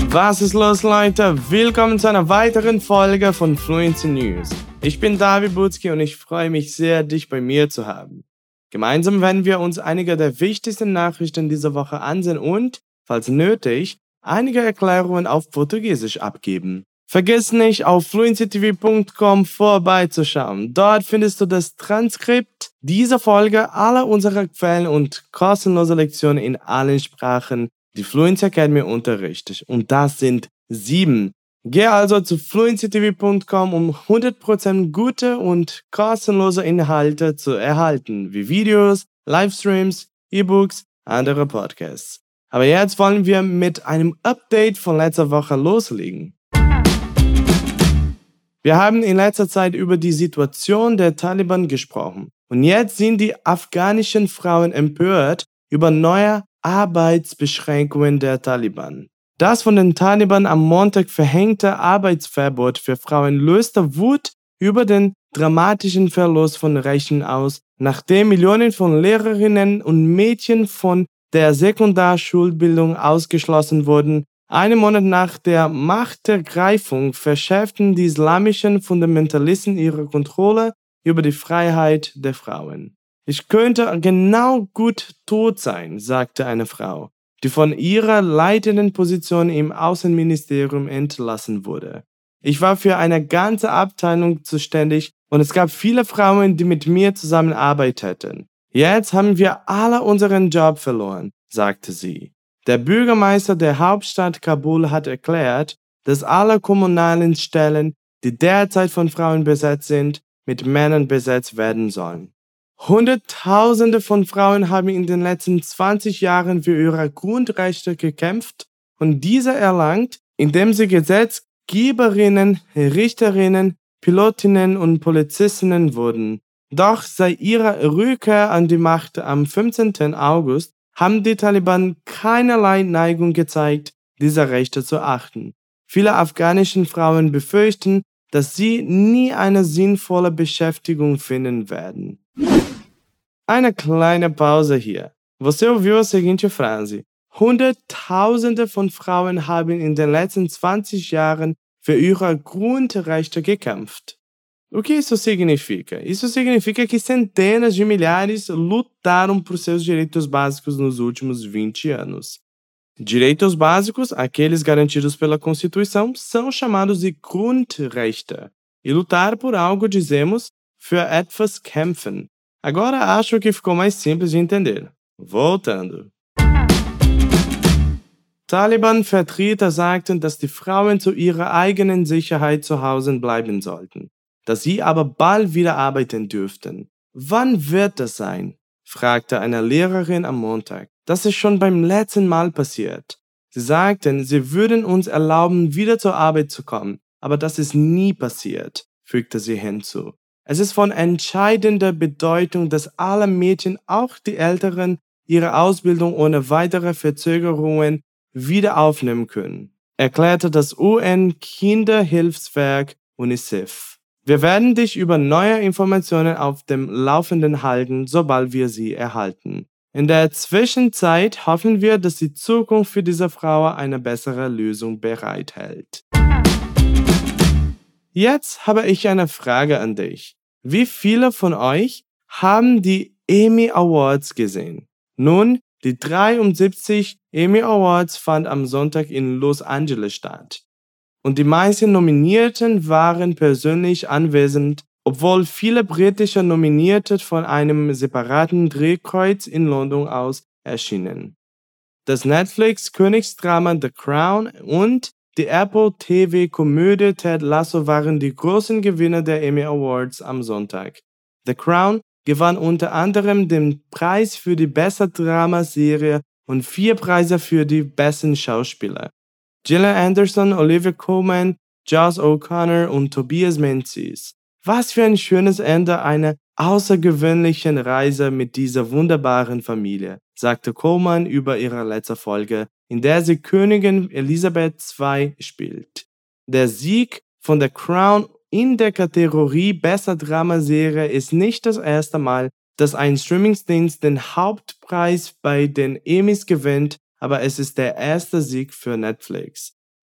Was ist los, Leute? Willkommen zu einer weiteren Folge von Fluency News. Ich bin David Butzki und ich freue mich sehr, dich bei mir zu haben. Gemeinsam werden wir uns einige der wichtigsten Nachrichten dieser Woche ansehen und, falls nötig, einige Erklärungen auf Portugiesisch abgeben. Vergiss nicht, auf fluencytv.com vorbeizuschauen. Dort findest du das Transkript dieser Folge, aller unserer Quellen und kostenlose Lektionen in allen Sprachen, die Fluency Academy unterrichtet. Und das sind 7. Geh also zu fluencytv.com, um 100% gute und kostenlose Inhalte zu erhalten, wie Videos, Livestreams, E-Books, andere Podcasts. Aber jetzt wollen wir mit einem Update von letzter Woche loslegen. Wir haben in letzter Zeit über die Situation der Taliban gesprochen. Und jetzt sind die afghanischen Frauen empört über neue Arbeitsbeschränkungen der Taliban. Das von den Taliban am Montag verhängte Arbeitsverbot für Frauen löste Wut über den dramatischen Verlust von Rechten aus, nachdem Millionen von Lehrerinnen und Mädchen von der Sekundarschulbildung ausgeschlossen wurden. Einen Monat nach der Machtergreifung verschärften die islamischen Fundamentalisten ihre Kontrolle über die Freiheit der Frauen. Ich könnte genau gut tot sein, sagte eine Frau, die von ihrer leitenden Position im Außenministerium entlassen wurde. Ich war für eine ganze Abteilung zuständig und es gab viele Frauen, die mit mir zusammenarbeiteten. Jetzt haben wir alle unseren Job verloren, sagte sie. Der Bürgermeister der Hauptstadt Kabul hat erklärt, dass alle kommunalen Stellen, die derzeit von Frauen besetzt sind, mit Männern besetzt werden sollen. Hunderttausende von Frauen haben in den letzten 20 Jahren für ihre Grundrechte gekämpft und diese erlangt, indem sie Gesetzgeberinnen, Richterinnen, Pilotinnen und Polizistinnen wurden. Doch seit ihrer Rückkehr an die Macht am 15. August haben die Taliban keinerlei Neigung gezeigt, diese Rechte zu achten. Viele afghanische Frauen befürchten, dass sie nie eine sinnvolle Beschäftigung finden werden. Eine kleine Pause hier. Você ouviu a seguinte Frase: Hunderttausende von Frauen haben in den letzten 20 Jahren für ihre Grundrechte gekämpft. O que isso significa? Isso significa que centenas de milhares lutaram por seus direitos básicos nos últimos 20 anos. Direitos básicos, aqueles garantidos pela Constituição, são chamados de Grundrechte. E lutar por algo, dizemos, für etwas kämpfen. Agora acho que ficou mais simples de entender. Voltando. Taliban-Vertreter sagten, dass die Frauen zu ihrer eigenen Sicherheit zu Hause bleiben sollten, dass sie aber bald wieder arbeiten dürften. Wann wird das sein? Fragte eine Lehrerin am Montag. Das ist schon beim letzten Mal passiert. Sie sagten, sie würden uns erlauben, wieder zur Arbeit zu kommen, aber das ist nie passiert, fügte sie hinzu. Es ist von entscheidender Bedeutung, dass alle Mädchen, auch die Älteren, ihre Ausbildung ohne weitere Verzögerungen wieder aufnehmen können, erklärte das UN-Kinderhilfswerk UNICEF. Wir werden dich über neue Informationen auf dem Laufenden halten, sobald wir sie erhalten. In der Zwischenzeit hoffen wir, dass die Zukunft für diese Frau eine bessere Lösung bereithält. Jetzt habe ich eine Frage an dich. Wie viele von euch haben die Emmy Awards gesehen? Nun, die 73 Emmy Awards fanden am Sonntag in Los Angeles statt. Und die meisten Nominierten waren persönlich anwesend, obwohl viele britische Nominierte von einem separaten Drehkreuz in London aus erschienen. Das Netflix-Königsdrama The Crown und die Apple TV-Komödie Ted Lasso waren die großen Gewinner der Emmy Awards am Sonntag. The Crown gewann unter anderem den Preis für die beste Dramaserie und 4 Preise für die besten Schauspieler. Gillian Anderson, Olivia Colman, Josh O'Connor und Tobias Menzies. Was für ein schönes Ende einer außergewöhnlichen Reise mit dieser wunderbaren Familie, sagte Colman über ihre letzte Folge, in der sie Königin Elisabeth II spielt. Der Sieg von The Crown in der Kategorie Bester Dramaserie ist nicht das erste Mal, dass ein Streamingdienst den Hauptpreis bei den Emmys gewinnt, aber es ist der erste Sieg für Netflix.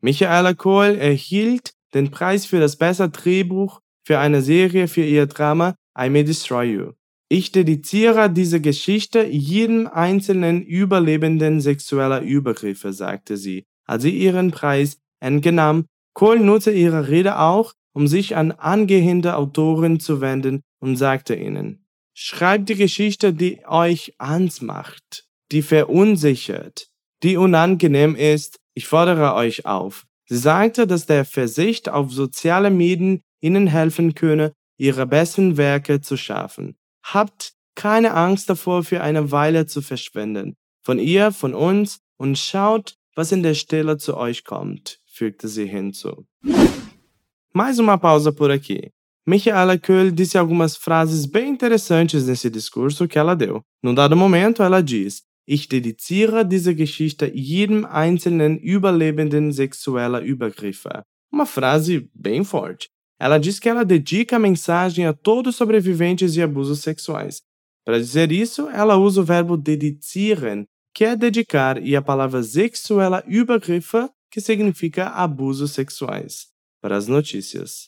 Michaela Coel erhielt den Preis für das beste Drehbuch für eine Serie für ihr Drama I May Destroy You. Ich dediziere diese Geschichte jedem einzelnen Überlebenden sexueller Übergriffe, sagte sie, als sie ihren Preis entgenahm. Coel nutzte ihre Rede auch, um sich an angehende Autoren zu wenden und sagte ihnen: Schreibt die Geschichte, die euch Angst macht, die verunsichert, die unangenehm ist. Ich fordere euch auf. Sie sagte, dass der Verzicht auf soziale Medien ihnen helfen könne, ihre besten Werke zu schaffen. Habt keine Angst davor, für eine Weile zu verschwinden. Von ihr, von uns, und schaut, was in der Stille zu euch kommt, fügte sie hinzu. Mais uma pausa por aqui. Michaela Coel disse algumas frases bem interessantes nesse discurso que ela deu. Num dado momento, ela diz: Ich dediziere diese Geschichte jedem einzelnen Überlebenden sexueller Übergriffe. Uma frase bem forte. Ela diz que ela dedica a mensagem a todos os sobreviventes de abusos sexuais. Para dizer isso, ela usa o verbo dedizieren, que é dedicar, e a palavra sexueller Übergriffe, que significa abusos sexuais. Para as notícias.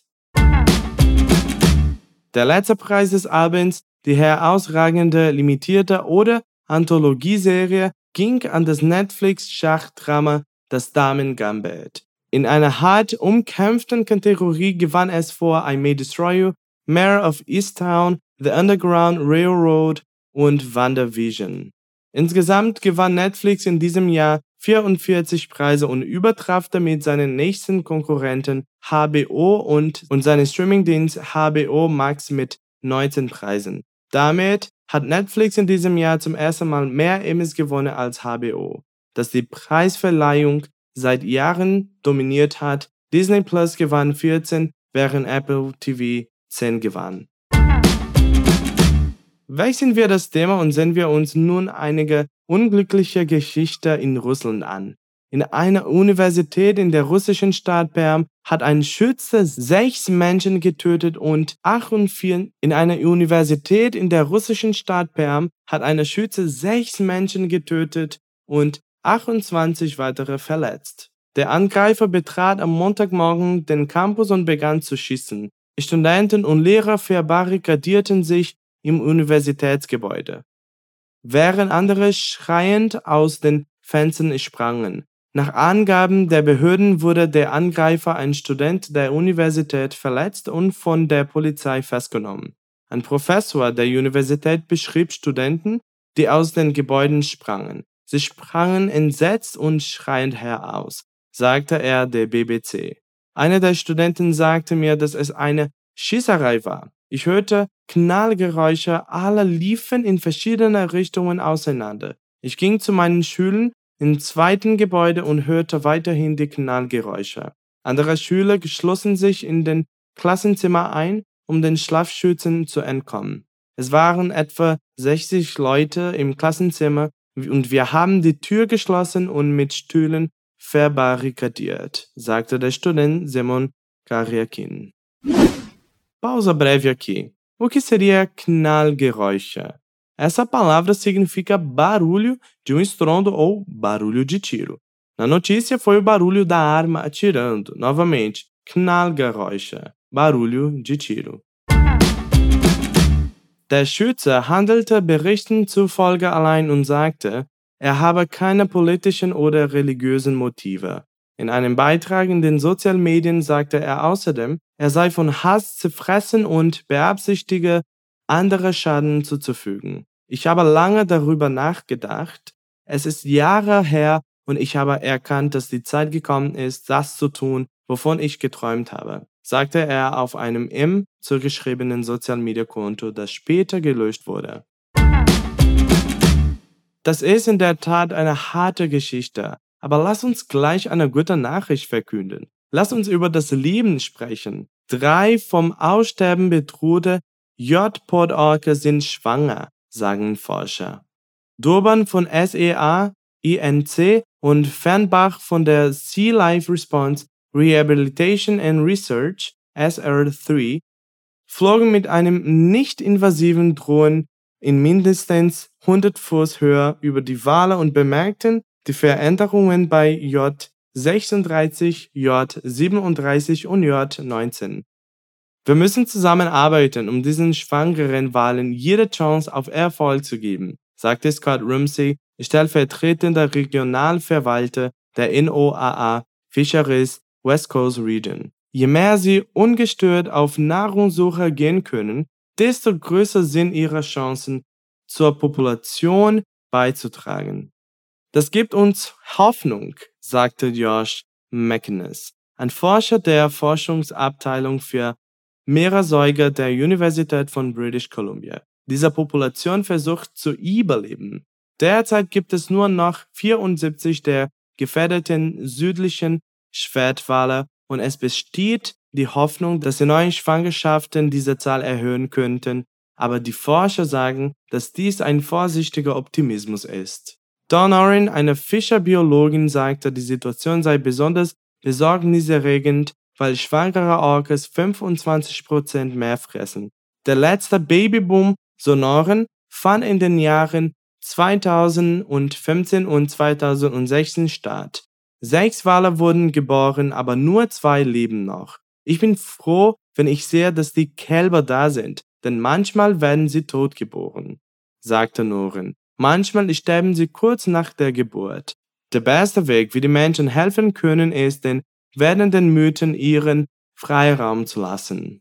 Der letzte Preis des Abends, die herausragende limitierte oder Anthologieserie, ging an das Netflix-Schachdrama Das Damen-Gambit. In einer hart umkämpften Kategorie gewann es vor I May Destroy You, Mayor of Easttown, The Underground Railroad und WandaVision. Insgesamt gewann Netflix in diesem Jahr 44 Preise und übertraf damit seinen nächsten Konkurrenten HBO und seinen Streamingdienst HBO Max mit 19 Preisen. Damit hat Netflix in diesem Jahr zum ersten Mal mehr Emmys gewonnen als HBO, das die Preisverleihung seit Jahren dominiert hat. Disney Plus gewann 14, während Apple TV 10 gewann. Wechseln wir das Thema und sehen wir uns nun einige unglückliche Geschichten in Russland an. In einer Universität in der russischen Stadt Perm hat ein Schütze 6 Menschen getötet und 48. In einer Universität in der russischen Stadt Perm hat ein Schütze 6 Menschen getötet und 28 weitere verletzt. Der Angreifer betrat am Montagmorgen den Campus und begann zu schießen. Studenten und Lehrer verbarrikadierten sich im Universitätsgebäude, während andere schreiend aus den Fenstern sprangen. Nach Angaben der Behörden wurde der Angreifer, ein Student der Universität, verletzt und von der Polizei festgenommen. Ein Professor der Universität beschrieb Studenten, die aus den Gebäuden sprangen. Sie sprangen entsetzt und schreiend heraus, sagte er der BBC. Einer der Studenten sagte mir, dass es eine Schießerei war. Ich hörte Knallgeräusche, alle liefen in verschiedene Richtungen auseinander. Ich ging zu meinen Schülern im zweiten Gebäude und hörte weiterhin die Knallgeräusche. Andere Schüler schlossen sich in den Klassenzimmer ein, um den Scharfschützen zu entkommen. Es waren etwa 60 Leute im Klassenzimmer und wir haben die Tür geschlossen und mit Stühlen verbarrikadiert, sagte der Student Simon Karjakin. Pausa breve aqui. O que seria knallgeräusche? Essa palavra significa barulho de estrondo ou barulho de tiro. Na notícia foi o barulho da arma atirando. Novamente, knallgeräusche, barulho de tiro. Der Schütze handelte Berichten zufolge allein und sagte, er habe keine politischen oder religiösen Motive. In einem Beitrag in den Sozialmedien sagte er außerdem, er sei von Hass zerfressen und beabsichtige, andere Schaden zuzufügen. Ich habe lange darüber nachgedacht. Es ist Jahre her und ich habe erkannt, dass die Zeit gekommen ist, das zu tun, wovon ich geträumt habe, sagte er auf einem ihm zugeschriebenen Social-Media-Konto, das später gelöscht wurde. Das ist in der Tat eine harte Geschichte, aber lass uns gleich eine gute Nachricht verkünden. Lass uns über das Leben sprechen. 3 vom Aussterben bedrohte J-Pod-Orke sind schwanger, sagen Forscher. Durban von SEA, INC und Fernbach von der Sea Life Response Rehabilitation and Research, SR3, flogen mit einem nicht-invasiven Drohnen in mindestens 100 Fuß Höhe über die Wale und bemerkten die Veränderungen bei J 36, J 37 und J 19. Wir müssen zusammenarbeiten, um diesen schwangeren Walen jede Chance auf Erfolg zu geben, sagte Scott Rumsey, stellvertretender Regionalverwalter der NOAA Fisheries West Coast Region. Je mehr sie ungestört auf Nahrungssuche gehen können, desto größer sind ihre Chancen, zur Population beizutragen. Das gibt uns Hoffnung, sagte Josh McInnes, ein Forscher der Forschungsabteilung für Meeressäuger der Universität von British Columbia. Diese Population versucht zu überleben. Derzeit gibt es nur noch 74 der gefährdeten südlichen Schwertwale und es besteht die Hoffnung, dass die neuen Schwangerschaften diese Zahl erhöhen könnten, aber die Forscher sagen, dass dies ein vorsichtiger Optimismus ist. Dawn Oren, eine Fischerbiologin, sagte, die Situation sei besonders besorgniserregend, weil schwangere Orcas 25% mehr fressen. Der letzte Babyboom, so Oren, fand in den Jahren 2015 und 2016 statt. 6 Wale wurden geboren, aber nur 2 leben noch. Ich bin froh, wenn ich sehe, dass die Kälber da sind, denn manchmal werden sie tot geboren, sagte Oren. Manchmal sterben sie kurz nach der Geburt. Der beste Weg, wie die Menschen helfen können, ist, den werdenden Mythen ihren Freiraum zu lassen.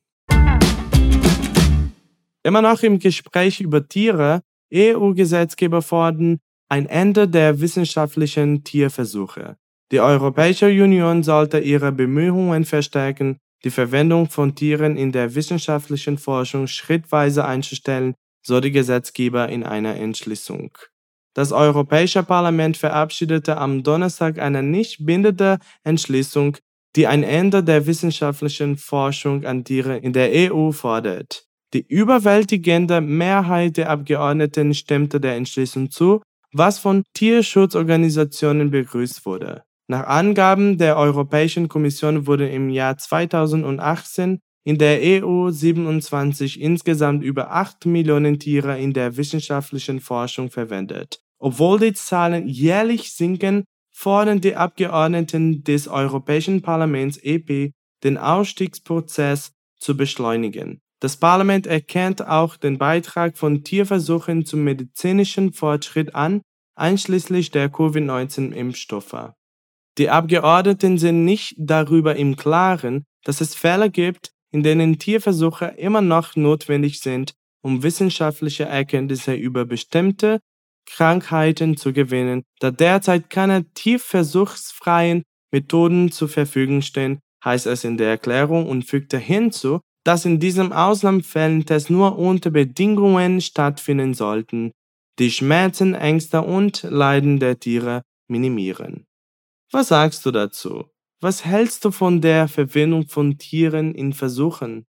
Immer noch im Gespräch über Tiere, EU-Gesetzgeber fordern ein Ende der wissenschaftlichen Tierversuche. Die Europäische Union sollte ihre Bemühungen verstärken, die Verwendung von Tieren in der wissenschaftlichen Forschung schrittweise einzustellen, so die Gesetzgeber in einer Entschließung. Das Europäische Parlament verabschiedete am Donnerstag eine nicht bindende Entschließung, die ein Ende der wissenschaftlichen Forschung an Tieren in der EU fordert. Die überwältigende Mehrheit der Abgeordneten stimmte der Entschließung zu, was von Tierschutzorganisationen begrüßt wurde. Nach Angaben der Europäischen Kommission wurden im Jahr 2018 in der EU 27 insgesamt über 8 Millionen Tiere in der wissenschaftlichen Forschung verwendet. Obwohl die Zahlen jährlich sinken, fordern die Abgeordneten des Europäischen Parlaments EP, den Ausstiegsprozess zu beschleunigen. Das Parlament erkennt auch den Beitrag von Tierversuchen zum medizinischen Fortschritt an, einschließlich der Covid-19-Impfstoffe. Die Abgeordneten sind nicht darüber im Klaren, dass es Fälle gibt, in denen Tierversuche immer noch notwendig sind, um wissenschaftliche Erkenntnisse über bestimmte Krankheiten zu gewinnen, da derzeit keine tierversuchsfreien Methoden zur Verfügung stehen, heißt es in der Erklärung und fügte hinzu, dass in diesen Ausnahmefällen Tests nur unter Bedingungen stattfinden sollten, die Schmerzen, Ängste und Leiden der Tiere minimieren. Was sagst du dazu? Was hältst du von der Verwendung von Tieren in Versuchen?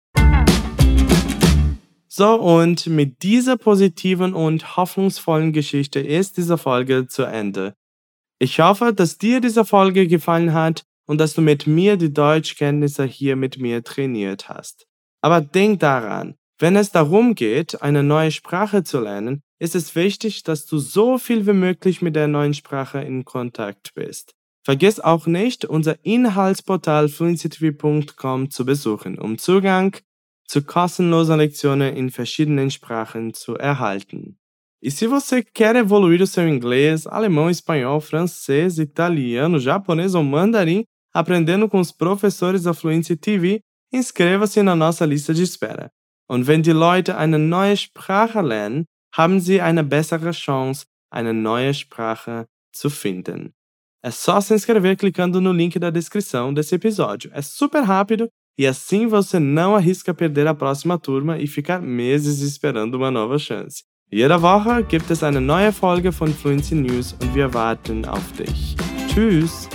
So, und mit dieser positiven und hoffnungsvollen Geschichte ist diese Folge zu Ende. Ich hoffe, dass dir diese Folge gefallen hat und dass du mit mir die Deutschkenntnisse hier mit mir trainiert hast. Aber denk daran, wenn es darum geht, eine neue Sprache zu lernen, ist es wichtig, dass du so viel wie möglich mit der neuen Sprache in Kontakt bist. Vergiss auch nicht, unser Inhaltsportal fluencytv.com zu besuchen, um Zugang zu kostenlosen Lektionen in verschiedenen Sprachen zu erhalten. E se você quer evoluir o seu inglês, alemão, espanhol, francês, italiano, japonês ou mandarim, aprendendo com os professores da Fluency TV, inscreva-se na nossa Liste de espera. Und wenn die Leute eine neue Sprache lernen, haben sie eine bessere Chance, eine neue Sprache zu finden. É só se inscrever clicando no link da descrição desse episódio. É super rápido e assim você não arrisca perder a próxima turma e ficar meses esperando uma nova chance. Jede Woche gibt es eine neue Folge von Fluency News und wir warten auf dich. Tschüss!